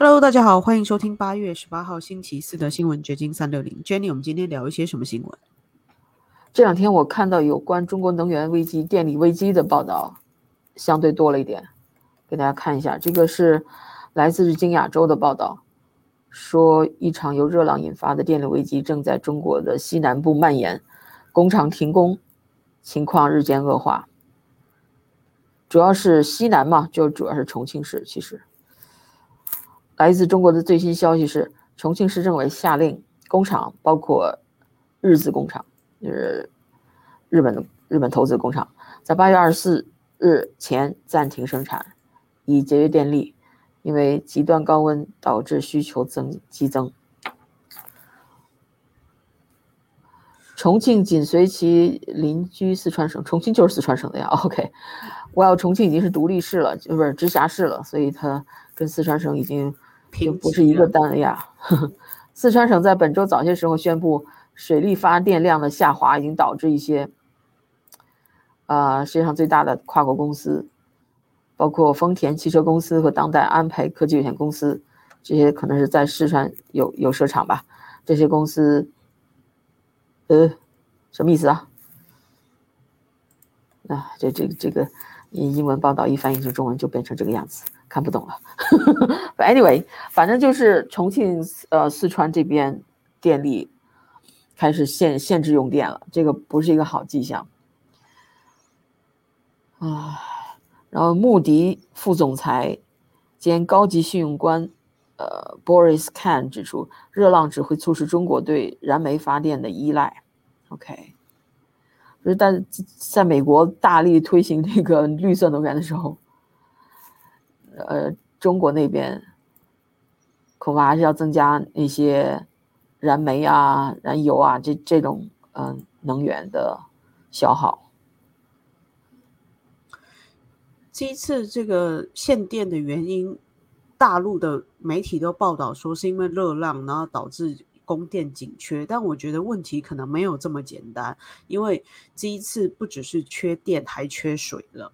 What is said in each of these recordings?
Hello，大家好，欢迎收听8月18号星期四的新闻掘金360。Jenny，我们今天聊一些什么新闻？ 这两天我看到有关中国能源危机、电力危机的报道，相对多了一点，给大家看一下。这个是来自日经亚洲的报道，说一场由热浪引发的电力危机正在中国的西南部蔓延，工厂停工，情况日渐恶化。主要是西南嘛，就主要是重庆市。其实，来自中国的最新消息是，重庆市政委下令工厂，包括日资工厂，就是日本投资工厂，在8月24日前暂停生产，以节约电力，因为极端高温导致需求激增。重庆紧随其邻居四川省，重庆就是四川省的呀。OK， 重庆已经是独立市了，不是直辖市了，所以它跟四川省已经就不是一个单位呀。四川省在本周早些时候宣布，水力发电量的下滑已经导致一些世界上最大的跨国公司，包括丰田汽车公司和当代安培科技有限公司，这些可能是在四川有设厂吧。这些公司，什么意思啊？这个英文报道一翻译成中文就变成这个样子，看不懂了。But anyway， 反正就是重庆四川这边电力开始限制用电了，这个不是一个好迹象。然后穆迪副总裁兼高级信用官Boris Kahn 指出，热浪只会促使中国对燃煤发电的依赖。OK， 但在美国大力推行这个绿色能源的时候，中国那边恐怕还是要增加那些燃煤啊、燃油啊这种能源的消耗。 这一次这个限电的原因，大陆的媒体都报道说是因为热浪，然后导致供电紧缺。但我觉得问题可能没有这么简单，因为这一次不只是缺电，还缺水了。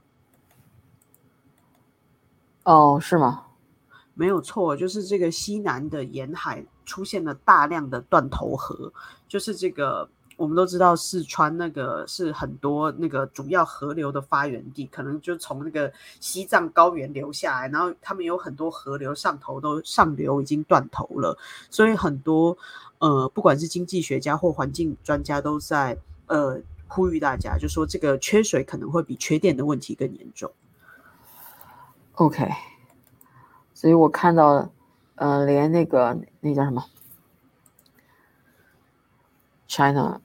哦，是吗？ 没有错，就是这个西南的沿海出现了大量的断头河，就是这个我们都知道四川那个是很多那个主要河流的发源地，可能就从那个西藏高原流下来，然后他们有很多河流上流已经断头了，所以很多不管是经济学家或环境专家都在呼吁大家，就说这个缺水可能会比缺电的问题更严重。 OK。所以我看到，连那叫什么 ，China，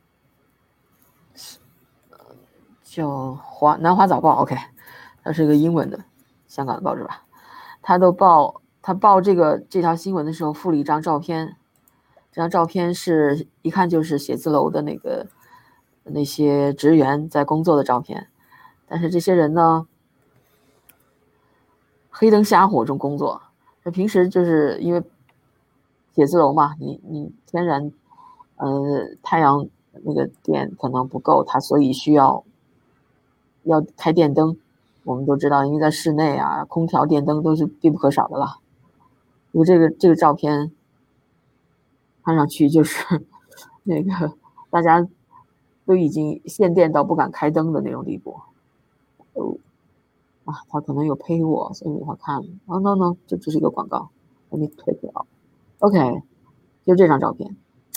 叫南华早报 ，OK， 它是一个英文的香港的报纸吧，他报这条新闻的时候附了一张照片，这张照片是一看就是写字楼的那些职员在工作的照片，但是这些人呢，黑灯瞎火中工作，平时就是因为写字楼嘛，你天然太阳那个电可能不够，它所以需要开电灯。我们都知道，因为在室内啊，空调、电灯都是必不可少的了。因为这个照片看上去就是那个大家都已经限电到不敢开灯的那种地步。他可能有配我，所以我看，no，这只是一个广告，我没退掉。OK， 就这张照片，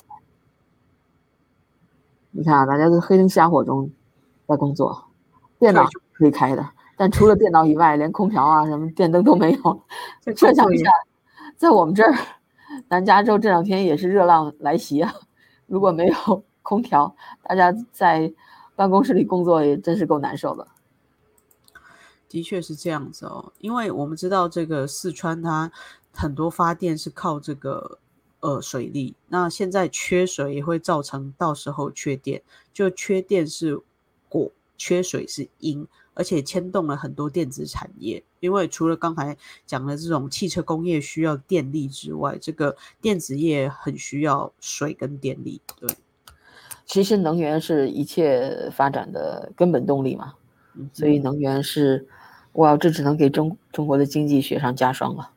你看啊，大家都黑灯瞎火中在工作，电脑可以开的，但除了电脑以外，连空调啊什么电灯都没有。设想一下，在我们这儿，南加州这两天也是热浪来袭啊，如果没有空调，大家在办公室里工作也真是够难受的。 的确是这样子哦，因为我们知道这个四川它很多发电是靠这个水力，那现在缺水也会造成到时候缺电，就缺电是果，缺水是因，而且牵动了很多电子产业。因为除了刚才讲的这种汽车工业需要电力之外，这个电子业很需要水跟电力。对， 其实能源是一切发展的根本动力嘛，所以能源是，这只能给中国的经济雪上加霜了。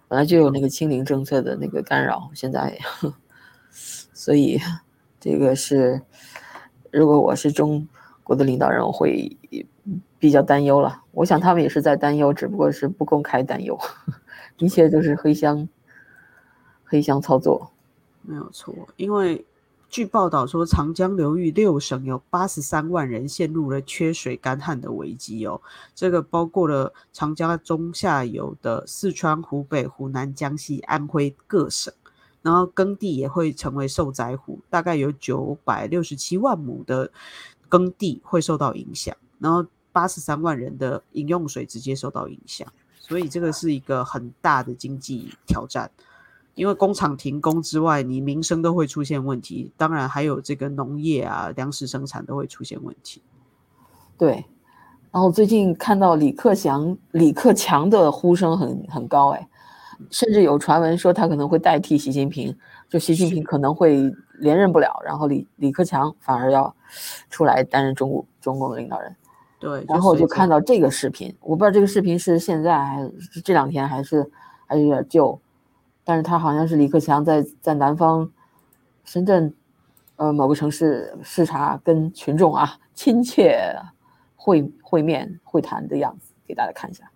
本来就有那个清零政策的那个干扰，现在所以这个是如果我是中国的领导人，我会比较担忧了。我想他们也是在担忧，只不过是不公开担忧，一切都是黑箱操作。 没有错，因为据报道说，长江流域6省有83万人陷入了缺水干旱的危机哦。这个包括了长江中下游的四川、湖北、湖南、江西、安徽各省，然后耕地也会成为受灾户，大概有967万亩的耕地会受到影响，然后83万人的饮用水直接受到影响，所以这个是一个很大的经济挑战。因为工厂停工之外，你民生都会出现问题，当然还有这个农业啊、粮食生产都会出现问题。 对，然后最近看到李克强的呼声很高，哎，甚至有传闻说他可能会代替习近平，就习近平可能会连任不了，然后李克强反而要出来担任中共的领导人。 对， 然后我就看到这个视频，我不知道这个视频是现在还是这2天还是有点旧。但是他好像是李克强在南方深圳某个城市视察，跟群众亲切会面会谈的样子，给大家看一下。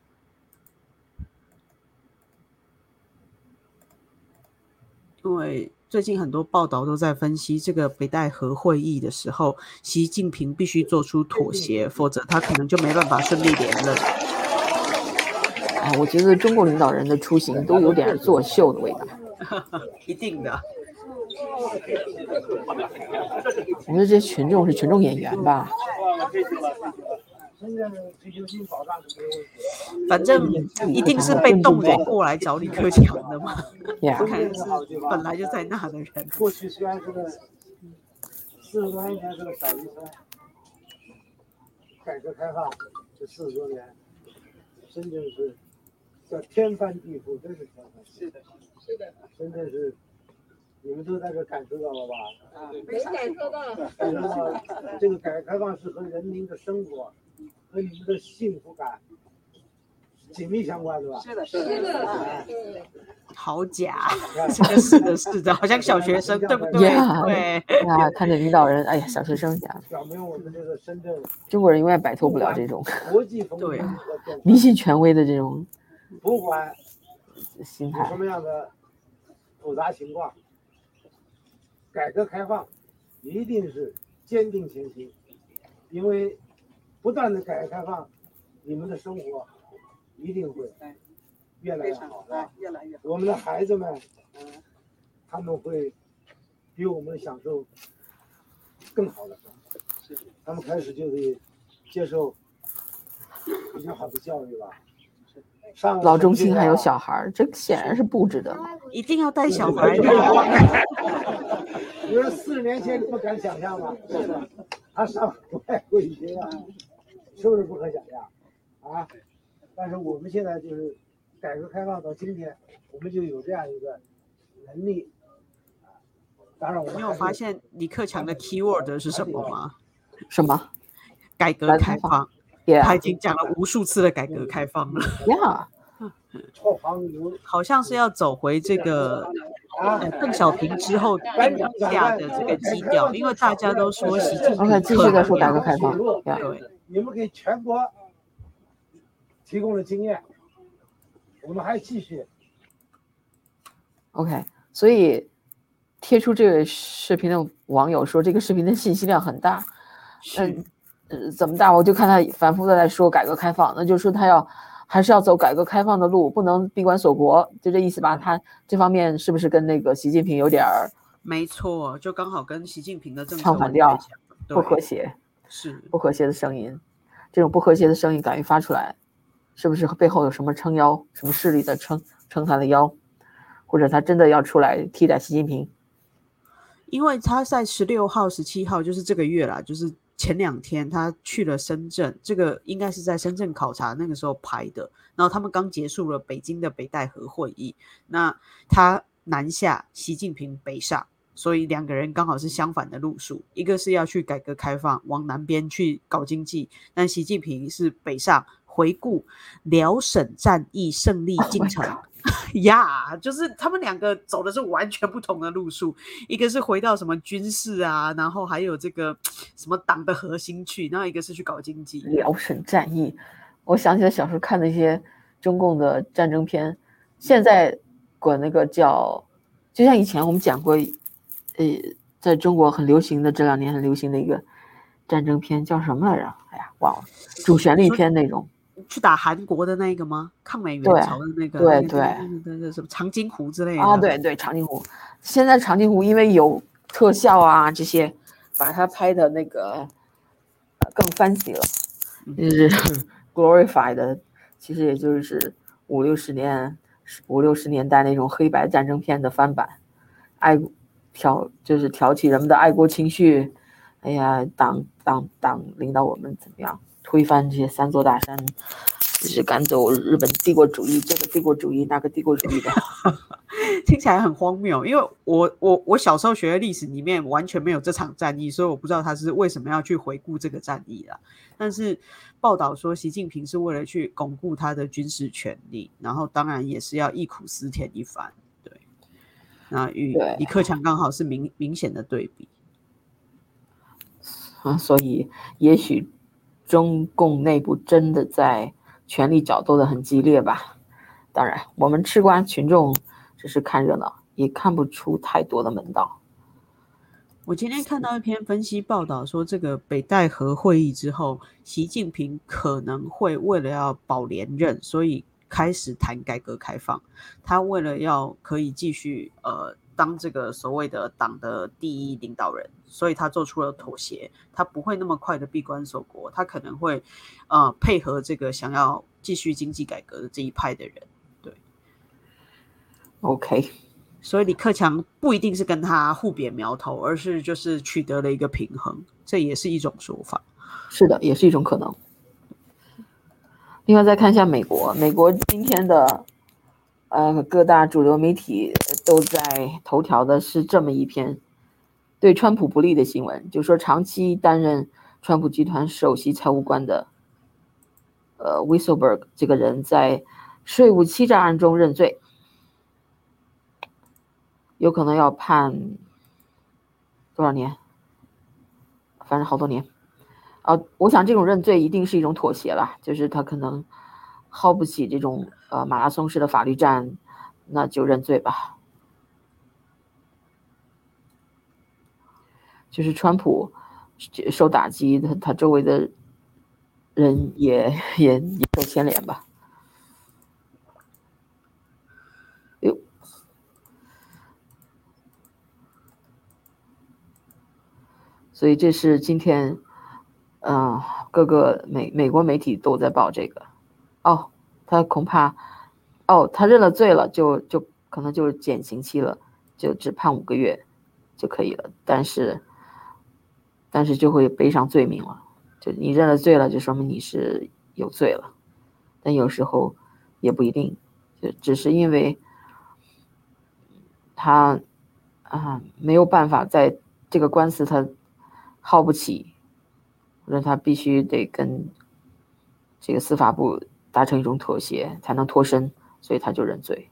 因为最近很多报道都在分析这个北戴河会议的时候，习近平必须做出妥协，否则他可能就没办法顺利连任。 我觉得中国领导人的出行都有点作秀的味道。 一定的。 我觉得这些群众是群众演员吧。 反正一定是被动员过来找李克强的嘛。 不可能是本来就在那的人。 过去虽然是个40多年前是个小渔村，改革开放这40多年，深圳是叫天翻地覆，真是天翻地覆。是的，是的，深圳是你们都在这感受到了吧？ 没感受到。 感受到这个改革开放是和人民的生活和你们的幸福感紧密相关的吧？ 是的，是的。 好假，这个是的，好像小学生，对不对？对。 看着领导人，哎呀，小学生讲。 表明我们这个深圳， 中国人永远摆脱不了这种国际风对迷信权威的这种不管心态， 什么样的复杂情况，改革开放一定是坚定前行，因为不断的改革开放，你们的生活一定会越来越好， 越来越好。 我们的孩子们，他们会比我们享受更好的生活，他们开始就得接受比较好的教育吧。 老中青还有小孩，这显然是布置的。 一定要带小孩的。 你说40年前你不敢想象吗？是的，他上外国语学院，是不是不可想象啊？但是我们现在就是改革开放到今天，我们就有这样一个能力。当然， 你有发现李克强的 keyword 是什么吗？ 什么？ 改革开放。他已经讲了无数次的改革开放了。好像是要走回这个邓小平之后定下的这个基调，因为大家都说习近平继续在说改革开放。 对， 你们给全国提供了经验，我们还继续。 OK， 所以贴出这个视频的网友说，这个视频的信息量很大。怎么大？我就看他反复的在说改革开放，那就是说他还是要走改革开放的路，不能闭关锁国，就这意思吧？他这方面是不是跟那个习近平有点没错，就刚好跟习近平的政策唱反调，不和谐， 是不和谐的声音。这种不和谐的声音敢于发出来，是不是背后有什么撑腰，什么势力在撑他的腰，或者他真的要出来替代习近平？ 因为他在16号、17号，就是这个月啦，就是前2天他去了深圳，这个应该是在深圳考察那个时候拍的。然后他们刚结束了北京的北戴河会议，那他南下，习近平北上，所以2个人刚好是相反的路数，一个是要去改革开放，往南边去搞经济，但习近平是北上回顾辽沈战役胜利进程。呀，就是他们两个走的是完全不同的路数，一个是回到什么军事啊，然后还有这个什么党的核心去，然后一个是去搞经济。 辽沈战役，我想起来小时候看那些中共的战争片，现在管那个叫，就像以前我们讲过，在中国很流行的，这2年很流行的一个战争片叫什么来着？哎呀，忘了，主旋律片那种。 去打韩国的那个吗？抗美援朝的那个，对，什么长津湖之类的啊，对，长津湖。现在长津湖因为有特效啊这些，把它拍的那个更 fancy 了，就是 glorify 的，其实也就是五六十年代那种黑白战争片的翻版，就是挑起人们的爱国情绪。哎呀，党领导我们怎么样推翻这些3座大山，就是赶走日本帝国主义，这个帝国主义那个帝国主义的。 听起来很荒谬，因为我小时候学的历史里面完全没有这场战役，所以我不知道他是为什么要去回顾这个战役啦。但是报道说习近平是为了去巩固他的军事权力，然后当然也是要忆苦思甜一番。对，那与李克强刚好是明显的对比。 所以也许中共内部真的在权力角斗得很激烈吧。当然我们吃瓜群众只是看热闹，也看不出太多的门道。 我今天看到一篇分析报道说，这个北戴河会议之后，习近平可能会为了要保连任，所以开始谈改革开放。他为了要可以继续当这个所谓的党的第一领导人，所以他做出了妥协。他不会那么快的闭关锁国，他可能会配合这个想要继续经济改革的这一派的人。对 ，OK。 所以李克强不一定是跟他互别苗头，而是就是取得了一个平衡，这也是一种说法。 是的，也是一种可能。另外再看一下美国今天的各大主流媒体都在头条的是这么一篇对川普不利的新闻，就说长期担任川普集团首席财务官的Weisselberg 这个人在税务欺诈案中认罪，有可能要判多少年，反正好多年。我想这种认罪一定是一种妥协了，就是他可能耗不起这种马拉松式的法律战，那就认罪吧。就是川普受打击，他周围的人也受牵连吧。所以这是今天各个美国媒体都在报这个。他恐怕他认了罪了，就可能就是减刑期了，就只判5个月就可以了，但是就会背上罪名了。就你认了罪了，就说明你是有罪了，但有时候也不一定，就只是因为他没有办法在这个官司他耗不起，或者他必须得跟这个司法部达成一种妥协才能脱身，所以他就认罪。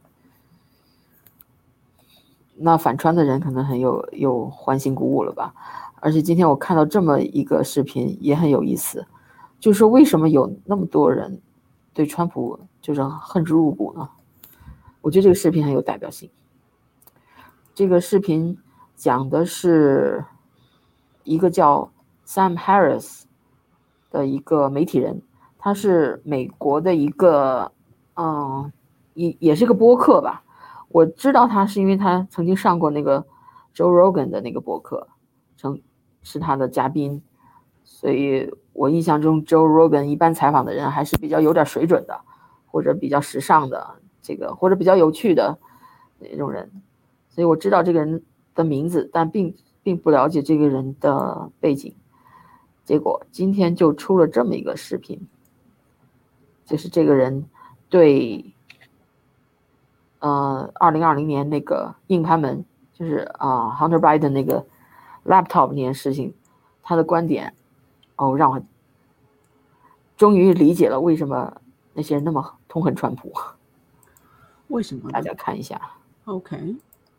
那反川的人可能又欢欣鼓舞了吧。而且今天我看到这么一个视频也很有意思，就是说为什么有那么多人对川普就是恨之入骨呢？我觉得这个视频很有代表性。这个视频讲的是一个叫 Sam Harris 的一个媒体人，他是美国的一个也是个播客吧。我知道他是因为他曾经上过那个 Joe Rogan 的那个播客，是他的嘉宾，所以我印象中 Joe Rogan 一般采访的人还是比较有点水准的，或者比较时尚的或者比较有趣的那种人，所以我知道这个人的名字，但并不了解这个人的背景。结果今天就出了这么一个视频，就是这个人对2020年那个硬盘门，就是Hunter Biden 那个 laptop 那件事情，他的观点让我终于理解了为什么那些人那么痛恨川普。 为什么呢？ 大家看一下。 OK。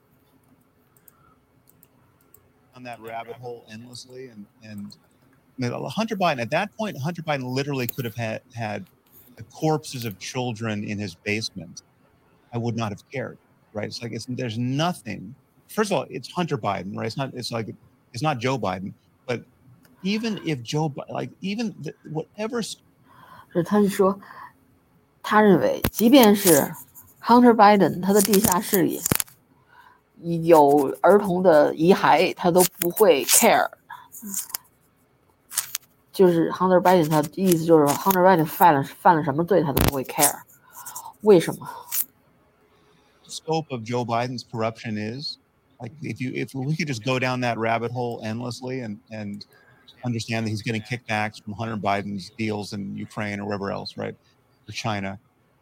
On that rabbit hole endlessly, and I mean, Hunter Biden at that point, Hunter Biden literally could have had the corpses of children in his basement. I would not have cared, right? It's like there's nothing. First of all, it's Hunter Biden, right? It's not Joe Biden, but even if Joe, like even whatever. 他是说，他认为，即便是 Hunter Biden 他的地下室里有儿童的遗骸，他都不会 care。就是 Hunter Biden 他的意思就是 Hunter Biden 犯了什么罪他都不会 care。为什么 ？Scope of Joe Biden's corruption is like if we could just go down that rabbit hole endlessly and understand that he's getting kickbacks from Hunter Biden's deals in Ukraine or wherever else, right, for China,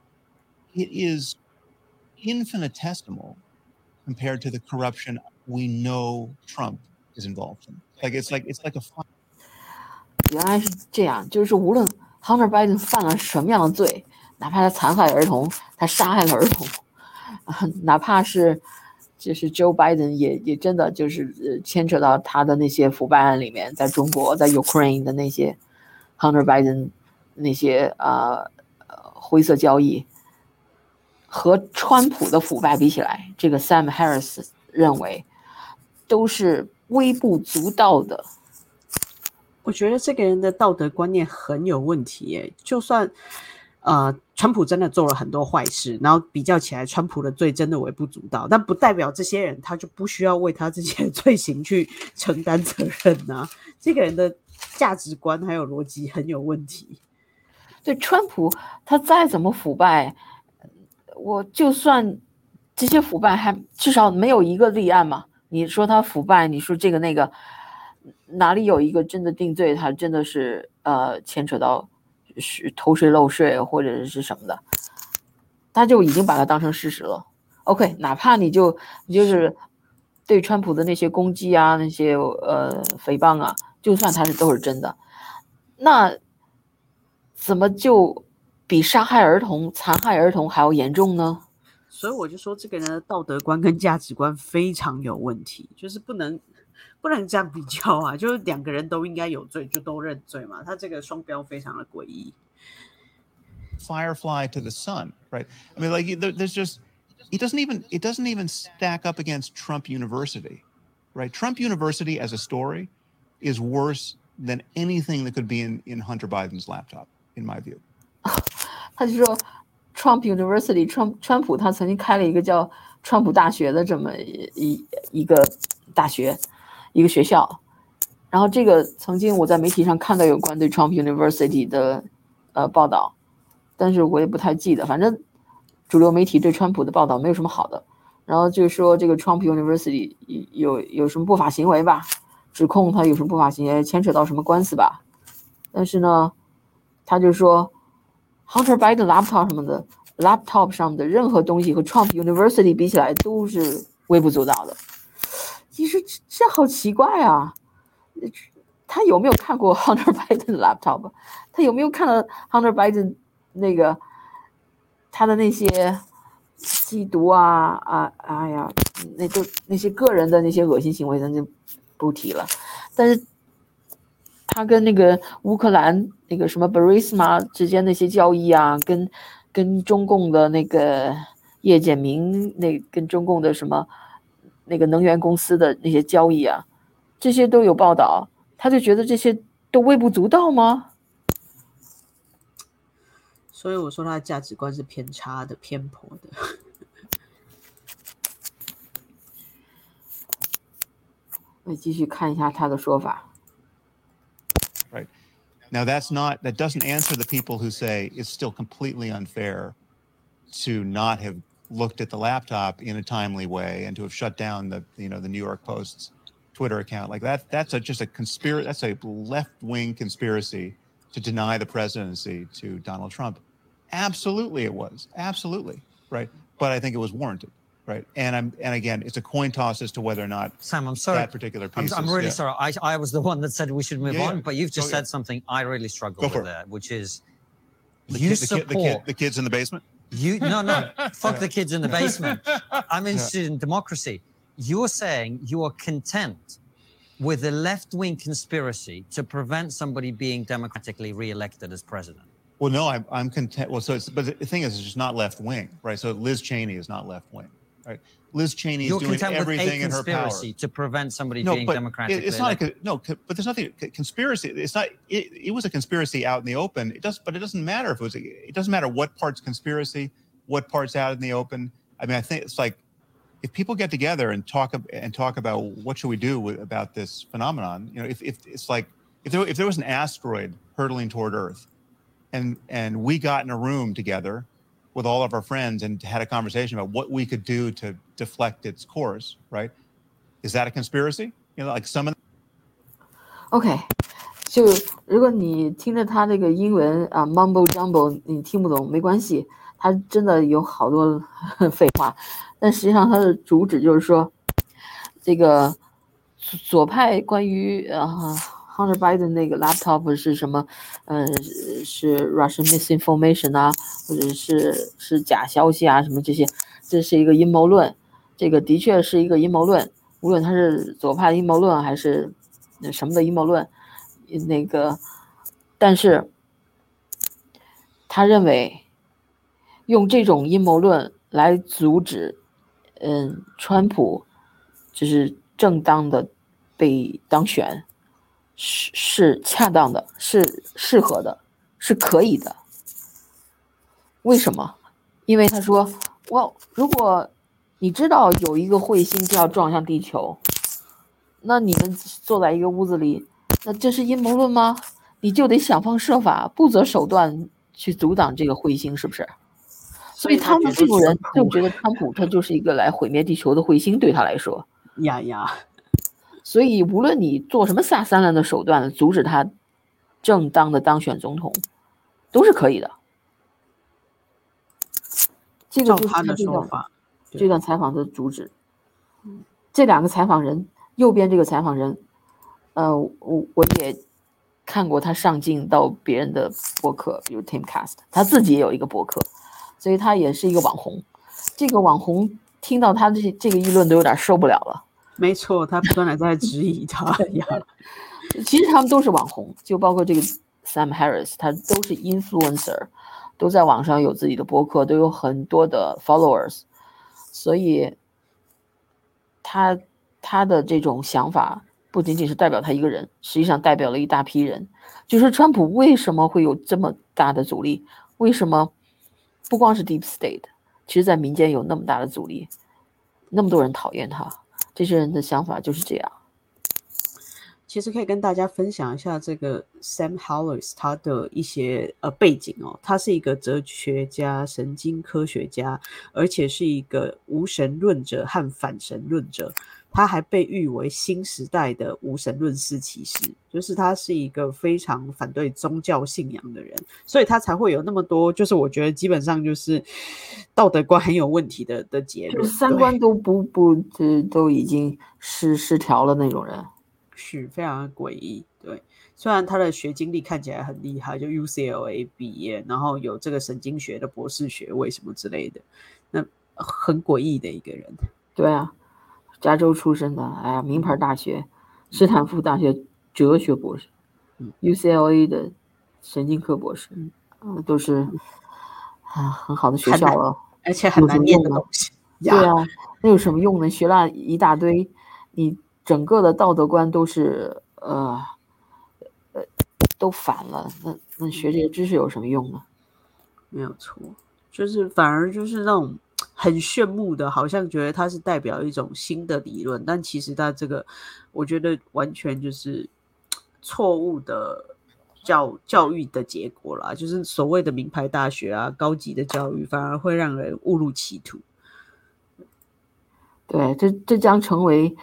it is infinitesimal compared to the corruption we know Trump is involved in. It's like a fun. 原来是这样，就是无论 Hunter Biden 犯了什么样的罪，哪怕他残害儿童，他杀害了儿童，哪怕是就是 Joe Biden 也真的就是牵扯到他的那些腐败案里面，在中国在 Ukraine 的那些 Hunter Biden 那些灰色交易，和川普的腐败比起来，这个 Sam Harris 认为都是微不足道的。 我觉得这个人的道德观念很有问题耶。就算川普真的做了很多坏事，然后比较起来川普的罪真的微不足道，但不代表这些人他就不需要为他这些罪行去承担责任啊。这个人的价值观还有逻辑很有问题。 对，川普他再怎么腐败，我就算这些腐败还至少没有一个立案嘛。你说他腐败，你说这个那个，哪里有一个真的定罪，他真的是牵扯到是偷税漏税或者是什么的，他就已经把它当成事实了。OK， 哪怕你就是对川普的那些攻击啊，那些诽谤啊，就算他都是真的，那怎么就比杀害儿童、残害儿童还要严重呢？ 所以我就说这个人的道德观跟价值观非常有问题，就是不能这样比较啊，就是两个人都应该有罪就都认罪嘛，他这个双标非常的诡异。 Firefly to the sun, right? I mean, like there's just it doesn't even stack up against Trump University, right? Trump University as a story is worse than anything that could be in Hunter Biden's laptop, in my view. 他就说 Trump University， 川普他曾经开了一个叫川普大学的这么一个大学，一个学校。然后这个曾经我在媒体上看到有关对 Trump University 的报道，但是我也不太记得，反正主流媒体对川普的报道没有什么好的。然后就说这个 Trump University 有什么不法行为吧，指控他有什么不法行为，牵扯到什么官司吧。但是呢，他就说 Hunter Biden laptop 上的任何东西和 Trump University 比起来都是微不足道的。其实这好奇怪啊，他有没有看过 Hunter Biden 的 laptop？ 他有没有看到 Hunter Biden 那个他的那些吸毒哎呀，那些个人的那些恶心行为咱就不提了。但是他跟那个乌克兰那个什么 Burisma 之间那些交易啊，跟中共的那个叶简明跟中共的什么那个能源公司的那些交易啊，这些都有报道，他就觉得这些都微不足道吗？ 所以我说他的价值观是偏差的、偏颇的。 我继续看一下他的说法。 Right. Now that doesn't answer the people who say it's still completely unfair to not have looked at the laptop in a timely way and to have shut down the New York Post's Twitter account. Like that's just a conspiracy. That's a left-wing conspiracy to deny the presidency to Donald Trump. Absolutely it was. Absolutely. Right. But I think it was warranted. Right. And again, it's a coin toss as to whether or not Sam, I'm sorry. That particular piece I'm really sorry. I was the one that said we should move on, but you've just said something I really struggle with there, which is You support the kids in the basement. No, fuck the kids in the basement. I'm interested in democracy. You're saying you are content with a left-wing conspiracy to prevent somebody being democratically re-elected as president. Well, no, I'm content. Well, but the thing is, it's just not left wing, right? So Liz Cheney is not left wing, right? Liz Cheney is doing everything in her power. You're content with a conspiracy to prevent somebody being democratically elected. But there's nothing conspiracy. It's not. It was a conspiracy out in the open. But it doesn't matter if it was. It doesn't matter what part's conspiracy, what part's out in the open. I mean, I think it's like if people get together and talk about what should we do about this phenomenon. You know, if it's like if there was an asteroid hurtling toward Earth, and we got in a room together with all of our friends and had a conversation about what we could do to deflect its course, right? Is that a conspiracy? You know, like some of OK， 就如果你听着他这个英文啊 mumble jumble 你听不懂没关系，他真的有好多废话，但实际上他的主旨就是说，这个左派关于Hunter Biden 那个 laptop 是什么？是 Russian misinformation 啊，或者是假消息啊，什么这些，这是一个阴谋论。这个的确是一个阴谋论，无论它是左派的阴谋论还是什么的阴谋论，那个，但是他认为用这种阴谋论来阻止，川普就是正当的被当选。是恰当的，是适合的，是可以的。为什么？因为他说，如果你知道有一个彗星就要撞向地球，那你们坐在一个屋子里，那这是阴谋论吗？你就得想方设法、不择手段去阻挡这个彗星，是不是？所以他们这种人就觉得川普他就是一个来毁灭地球的彗星，对他来说。 呀。 所以无论你做什么下三滥的手段阻止他正当的当选总统，都是可以的。这个就是他这段采访的主旨。这两个采访人，右边这个采访人，我也看过他上镜到别人的博客，比如 Timcast， 他自己也有一个博客，所以他也是一个网红。这个网红听到他这个议论都有点受不了了。 没错，他不断的在质疑他呀。 其实他们都是网红，就包括这个 Sam Harris， 他都是 influencer， 都在网上有自己的博客，都有很多的 followers， 所以他的这种想法不仅仅是代表他一个人，实际上代表了一大批人。就是川普为什么会有这么大的阻力？为什么不光是 Deep State， 其实在民间有那么大的阻力，那么多人讨厌他？这些人的想法就是这样。 其实可以跟大家分享一下这个 Sam Harris 他的一些背景哦。他是一个哲学家、神经科学家，而且是一个无神论者和反神论者。他还被誉为新时代的无神论四骑士，就是他是一个非常反对宗教信仰的人，所以他才会有那么多，就是我觉得基本上就是道德观很有问题的结论， 三观都都已经失调了那种人， 是非常诡异。对，虽然他的学经历看起来很厉害，就 UCLA 毕业，然后有这个神经学的博士学位什么之类的，那很诡异的一个人。 对啊。加州出身的，名牌大学，斯坦福大学哲学博士，UCLA 的神经科博士，都是很好的学校了， 而且很难念的东西。 对啊，那有什么用呢？学了一大堆，你整个的道德观都是都反了，那学这些知识有什么用呢？ 没有错，就是反而就是那种。很炫目的，好像觉得它是代表一种新的理论，但其实它这个我觉得完全就是错误的教育的结果啦，就是所谓的名牌大学啊，高级的教育反而会让人误入歧途。 对，这将成为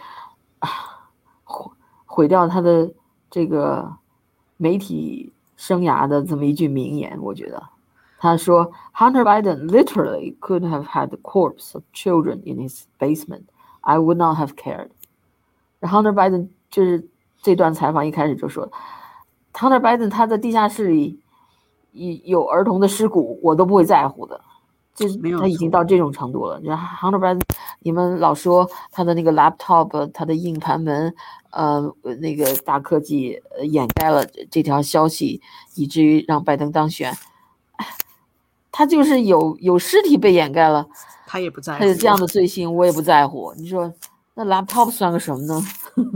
毁掉他的这个媒体生涯的这么一句名言，我觉得。他说 Hunter Biden literally could have had the corpse of children in his basement. I would not have cared. Hunter Biden 就是这段采访一开始就说 Hunter Biden 他的地下室里有儿童的尸骨，我都不会在乎的。就是没有他已经错到这种程度了。然后 Hunter Biden， 你们老说他的那个 laptop， 他的硬盘门，那个大科技掩盖了这条消息，以至于让拜登当选。他就是有尸体被掩盖了， 他也不在乎。 他有这样的罪行，我也不在乎。你说那 laptop 算个什么呢？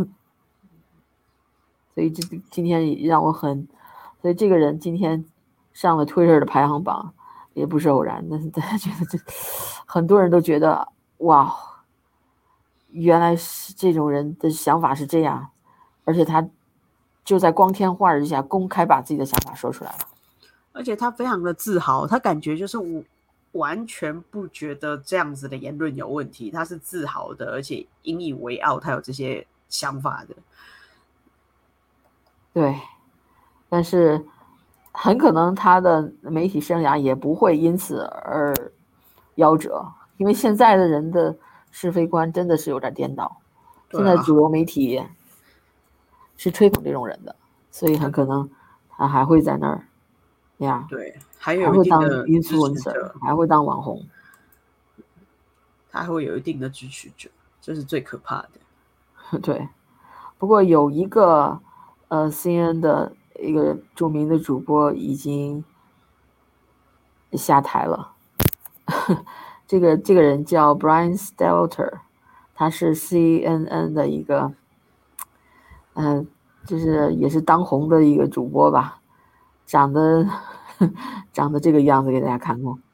所以今天也让我所以这个人今天上了 Twitter 的排行榜。也不是偶然，但是大家觉得很多人都觉得哇，原来是这种人的想法是这样，而且他就在光天化日之下公开把自己的想法说出来了， 而且他非常的自豪，他感觉就是我完全不觉得这样子的言论有问题，他是自豪的，而且引以为傲，他有这些想法的。 对，但是很可能他的媒体生涯也不会因此而夭折，因为现在的人的是非观真的是有点颠倒，现在主流媒体是吹捧这种人的，所以很可能他还会在那儿呀， 对，还会当 influencer， 还会当网红， 他还会有一定的支持者，这是最可怕的。 对，不过有一个CNN 的一个著名的主播已经下台了。这个人叫 Brian Stelter， 他是 CNN 的一个就是也是当红的一个主播吧，长得这个样子给大家看过。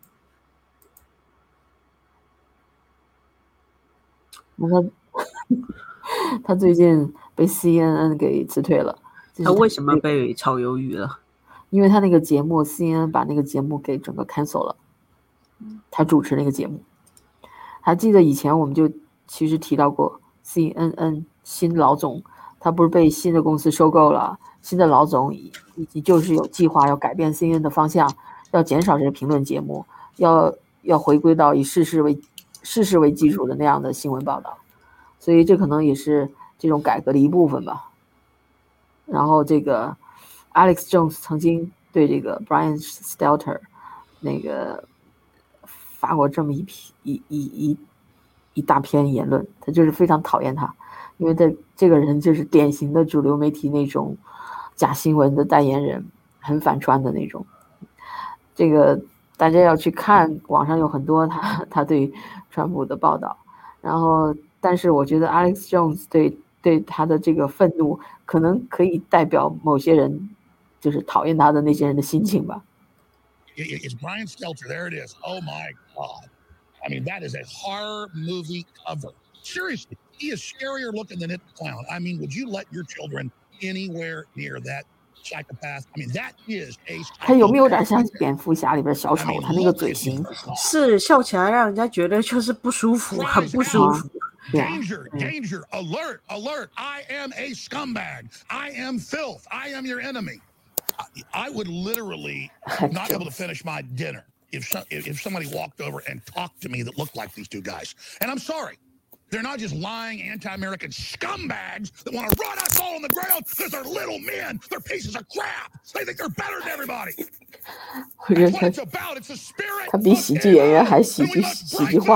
那他最近被 CNN 给辞退了。 他为什么被炒鱿鱼了？ 因为他那个节目 CNN 把那个节目给整个 cancel 了，他主持那个节目。还记得以前我们就其实提到过 CNN 新老总，他不是被新的公司收购了，新的老总就是有计划要改变 CNN 的方向，要减少这个评论节目，要回归到以事实为基础的那样的新闻报道，所以这可能也是这种改革的一部分吧。然后这个 Alex Jones 曾经对这个 Brian Stelter 那个发过这么一大篇言论，他就是非常讨厌他，因为这个人就是典型的主流媒体那种假新闻的代言人，很反川的那种。这个大家要去看，网上有很多他对川普的报道，然后但是我觉得 Alex Jones 对他的这个愤怒可能可以代表某些人就是讨厌他的那些人的心情吧。 It's Brian Stelter. There it is. Oh my God. I mean, that is a horror movie cover. Seriously, he is scarier looking than It the Clown. I mean, would you let your children anywhere near that psychopath? I mean, that is a. 他有没有点像蝙蝠侠里边小丑？他那个嘴型是笑起来让人家觉得就是不舒服，很不舒服。 Danger, danger, alert, alert. I am a scumbag. I am filth. I am your enemy. I would literally not be able to finish my dinner if somebody walked over and talked to me that looked like these two guys. And I'm sorry. They're not just lying anti-American scumbags that want to run us all on the ground because they're little men. They're pieces of crap. They think they're better than everybody. That's what it's about. It's a spirit. 他比喜剧演员还喜剧化。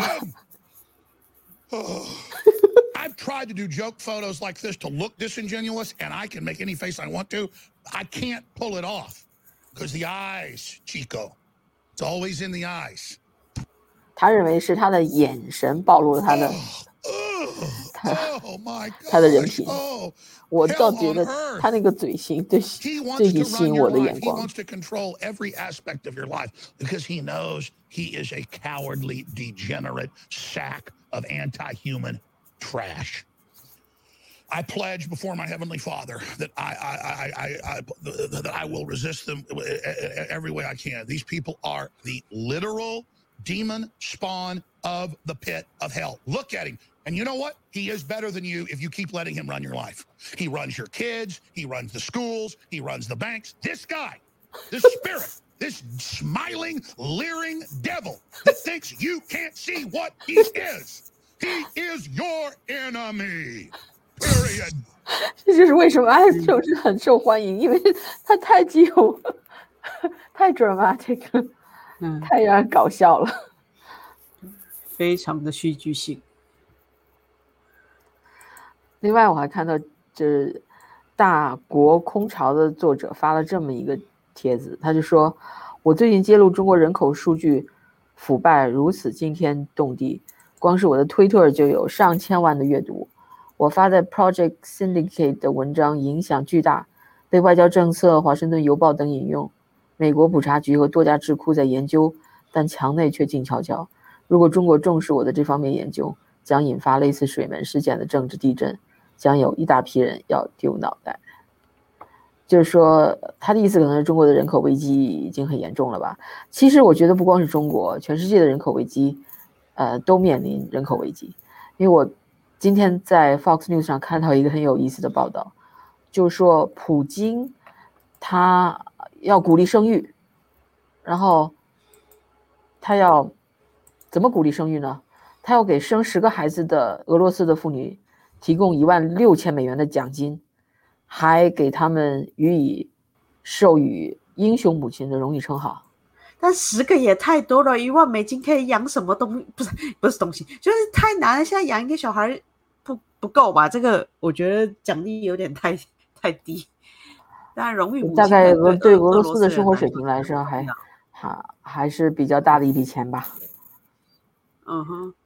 I've tried to do joke photos like this to look disingenuous, and I can make any face I want to. I can't pull it off because the eyes, Chico. It's always in the eyes. 他认为是他的眼神暴露了他的他的人品。我倒觉得他那个嘴型最吸引我的眼光。 He wants to control every aspect of your life because he knows he is a cowardly, degenerate sack of anti-human trash. I pledge before my heavenly Father that I will resist them every way I can. These people are the literal demon spawn of the pit of hell. Look at him. And you know what? He is better than you if you keep letting him run your life. He runs your kids. He runs the schools. He runs the banks. This guy, this spirit, this smiling, leering devil that thinks you can't see what he is your enemy. Period. 这就是为什么Alex Jones很受欢迎，因为他太具有太 dramatic 了，太让人搞笑了， 非常的戏剧性。 另外，我还看到这大国空巢的作者发了这么一个帖子，他就说：“我最近揭露中国人口数据腐败如此惊天动地，光是我的推特就有上千万的阅读。我发在 Project Syndicate 的文章影响巨大，被外交政策、华盛顿邮报等引用。美国普查局和多家智库在研究，但墙内却静悄悄。如果中国重视我的这方面研究，将引发类似水门事件的政治地震。”将有一大批人要丢脑袋，就是说，他的意思可能是中国的人口危机已经很严重了吧？其实我觉得不光是中国，全世界的人口危机，都面临人口危机。因为我今天在 Fox News 上看到一个很有意思的报道，就是说普京他要鼓励生育，然后他要怎么鼓励生育呢？他要给生10个孩子的俄罗斯的妇女提供16000美元的奖金，还给他们予以授予英雄母亲的荣誉称号。 但10个也太多了，1万美金可以养什么东西？不是东西，就是太难了。现在养一个小孩不够吧？这个我觉得奖励有点太低。当然，荣誉母亲大概对俄罗斯斯的生活水平来说还是比较大的一笔钱吧。 嗯哼。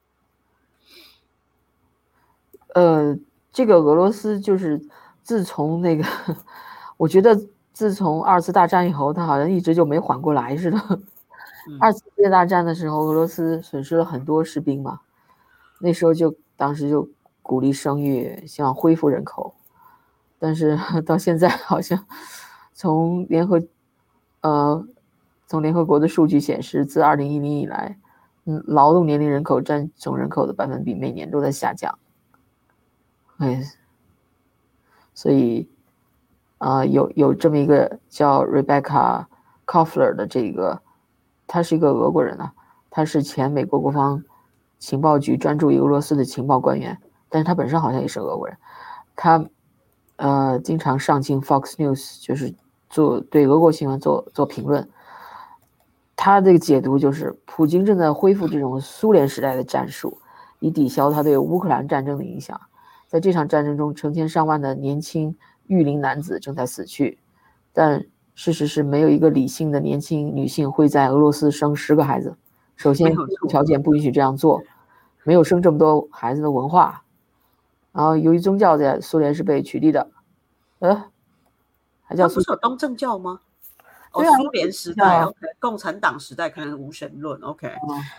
这个俄罗斯就是自从那个，我觉得自从2次大战以后，他好像一直就没缓过来似的。2次世界大战的时候，俄罗斯损失了很多士兵嘛，那时候当时就鼓励生育，希望恢复人口，但是到现在好像从联合国的数据显示，自2010以来，劳动年龄人口占总人口的百分比每年都在下降。所以有这么一个叫 Rebecca Koffler 的这个，他是一个俄国人啊，他是前美国国防情报局专注于俄罗斯的情报官员，但是他本身好像也是俄国人。他经常上镜 Fox News， 就是对俄国新闻做评论。他这个解读就是普京正在恢复这种苏联时代的战术，以抵消他对乌克兰战争的影响。在这场战争中，成千上万的年轻育龄男子正在死去，但事实是没有一个理性的年轻女性会在俄罗斯生10个孩子。首先，条件不允许这样做，没有生这么多孩子的文化，然后由于宗教在苏联是被取缔的，还叫不是有东正教吗？ 对啊， 苏联时代 ，OK， 共产党时代可能无神论 ，OK，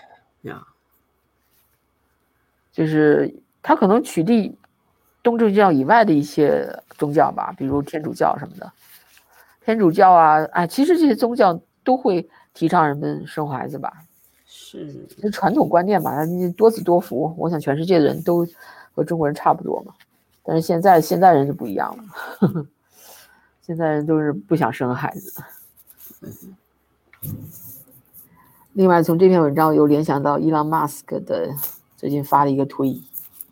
就是他可能取缔东正教以外的一些宗教吧，比如天主教什么的。天主教啊，其实这些宗教都会提倡人们生孩子吧， 是传统观念吧，你多子多福，我想全世界的人都和中国人差不多嘛。但是现在人就不一样了，现在人都是不想生孩子。另外，从这篇文章又联想到伊朗马斯克的最近发了一个推。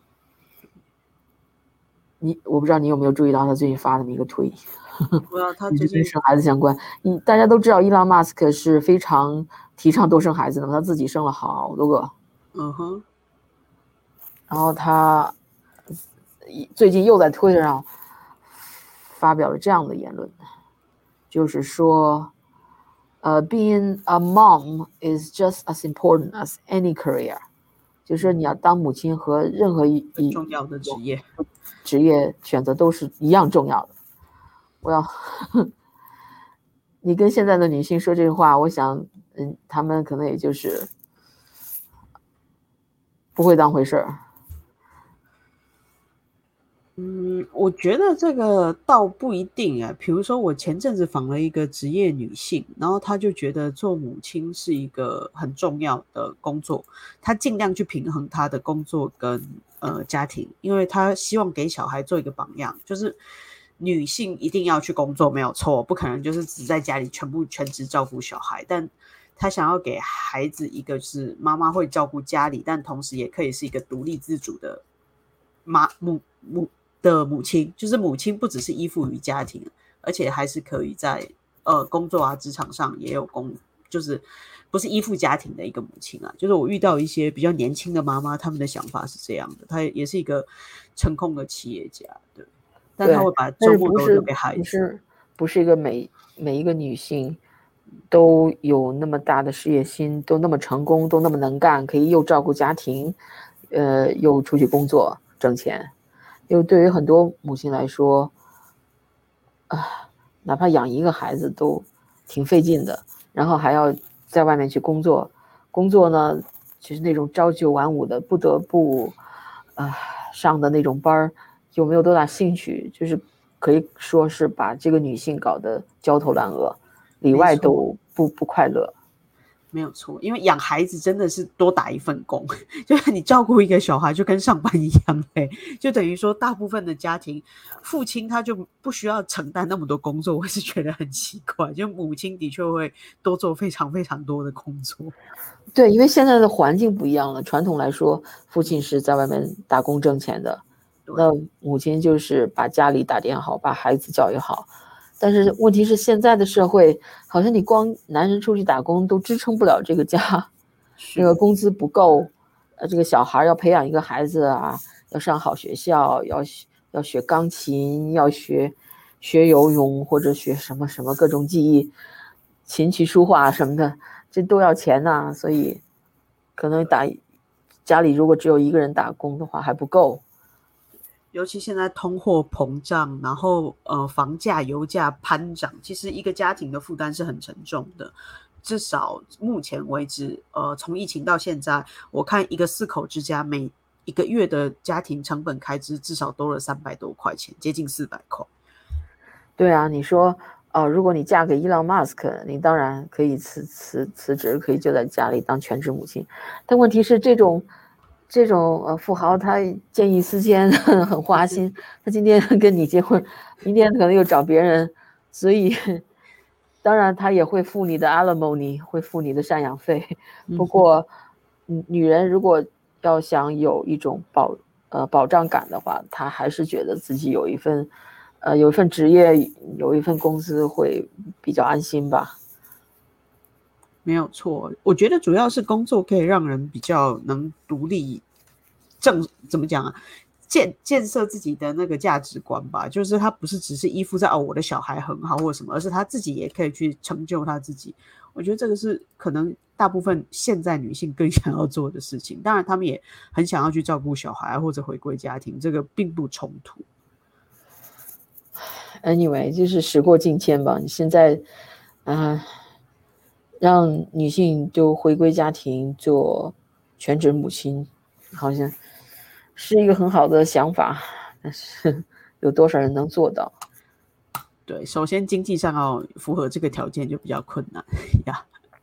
我不知道你有没有注意到他最近发的一个推， 他最近跟生孩子相关。大家都知道伊朗马斯克是非常提倡多生孩子的，他自己生了好多个。然后他最近又在推特上发表了这样的言论，就是说，being a mom is just as important as any career， 就是说你要当母亲和任何一重要的职业选择都是一样重要的。你跟现在的女性说这句话，我想，她们可能也就是不会当回事儿。 我觉得这个倒不一定啊。比如说，我前阵子访了一个职业女性，然后她就觉得做母亲是一个很重要的工作，她尽量去平衡她的工作跟家庭，因为她希望给小孩做一个榜样，就是女性一定要去工作没有错，不可能就是只在家里全职照顾小孩，但她想要给孩子一个是妈妈会照顾家里，但同时也可以是一个独立自主的母亲，就是母亲不只是依附于家庭，而且还是可以在工作啊，职场上也有就是不是依附家庭的一个母亲啊。就是我遇到一些比较年轻的妈妈，他们的想法是这样的，她也是一个成功的企业家，对，但她会把周末都留给孩子。 不是一个每一个女性都有那么大的事业心，都那么成功，都那么能干，可以又照顾家庭，又出去工作挣钱。因为对于很多母亲来说，哪怕养一个孩子都挺费劲的，然后还要在外面去工作，工作呢就是那种朝九晚五的，不得不上的那种班，有没有多大兴趣，就是可以说是把这个女性搞得焦头烂额，里外都不快乐。 没有错，因为养孩子真的是多打一份工，就是你照顾一个小孩就跟上班一样就等于说大部分的家庭父亲他就不需要承担那么多工作，我是觉得很奇怪，就母亲的确会多做非常非常多的工作。 对，因为现在的环境不一样了，传统来说父亲是在外面打工挣钱的，那母亲就是把家里打点好，把孩子教育好。但是问题是现在的社会好像你光男人出去打工都支撑不了这个家，那个工资不够，这个小孩要培养一个孩子啊，要上好学校，要学钢琴，要学游泳，或者学什么各种技艺，琴棋书画什么的，这都要钱呐，所以可能家里如果只有一个人打工的话还不够。 尤其现在通货膨胀，然后房价油价攀涨，其实一个家庭的负担是很沉重的。至少目前为止从疫情到现在，我看一个4口之家每一个月的家庭成本开支至少多了300多块钱，接近400块。 对啊，你说如果你嫁给伊朗马斯克，你当然可以辞职，可以就在家里当全职母亲。但问题是这种富豪他见异思迁，很花心，他今天跟你结婚，明天可能又找别人，所以当然他也会付你的 alimony， 会付你的赡养费。不过女人如果要想有一种保障感的话，她还是觉得自己有一份职业，有一份工资会比较安心吧。 没有错，我觉得主要是工作可以让人比较能独立，怎么讲啊？建设自己的那个价值观吧，就是他不是只是依附在我的小孩很好或什么，而是他自己也可以去成就他自己。我觉得这个是可能大部分现在女性更想要做的事情。当然，他们也很想要去照顾小孩或者回归家庭，这个并不冲突。 Anyway， 就是时过境迁吧。你现在让女性就回归家庭做全职母亲，好像是一个很好的想法，但是有多少人能做到？ 对，首先经济上要符合这个条件就比较困难呀。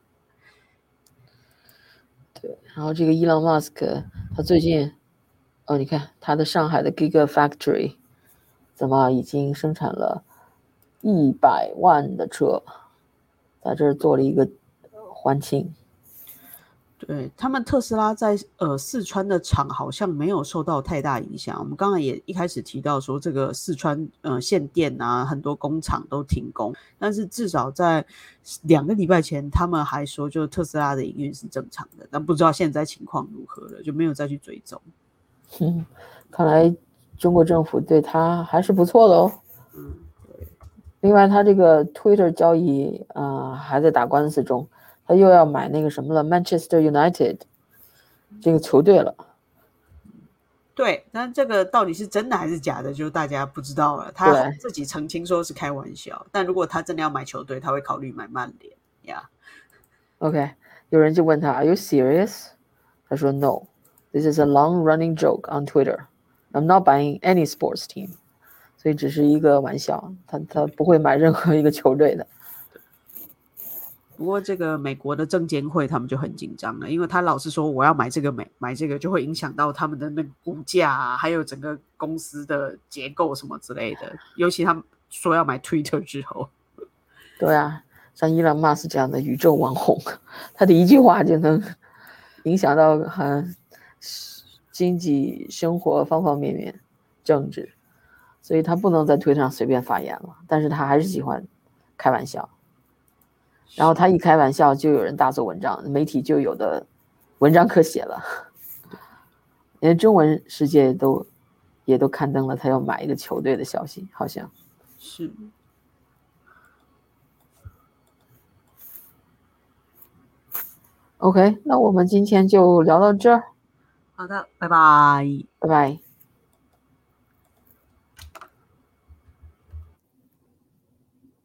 对，然后这个伊朗马斯克他最近你看他的上海的 Gigafactory 怎么已经生产了100万的车，在这儿做了一个欢庆。 对，他们特斯拉在四川的厂好像没有受到太大影响。我们刚才也一开始提到说，这个四川限电啊，很多工厂都停工，但是至少在2个礼拜前，他们还说就特斯拉的营运是正常的，但不知道现在情况如何了，就没有再去追踪。 看来中国政府对他还是不错的哦。 对。 另外，他这个 Twitter 交易还在打官司中。他又要买那个什么了 Manchester United 这个球队了。 对，但这个到底是真的还是假的，就大家不知道了。他自己澄清说是开玩笑，但如果他真的要买球队，他会考虑买曼联呀。 OK， 有人就问他 Are you serious？ 他说 No， This is a long-running joke on Twitter. I'm not buying any sports team. 所以只是一个玩笑，他不会买任何一个球队的。 不过这个美国的证监会他们就很紧张了，因为他老是说我要买这个买这个，就会影响到他们的那个股价啊，还有整个公司的结构什么之类的。尤其他们说要买 Twitter 之后， 对啊，像伊朗马斯这样的宇宙网红，他的一句话就能影响到经济生活方方面面，政治，所以他不能在推特上随便发言了。但是他还是喜欢开玩笑。 然后他一开玩笑，就有人大做文章，媒体就有的文章可写了。连中文世界也都刊登了他要买一个球队的消息，好像是。 OK， 那我们今天就聊到这儿。 好的，拜拜。 拜拜。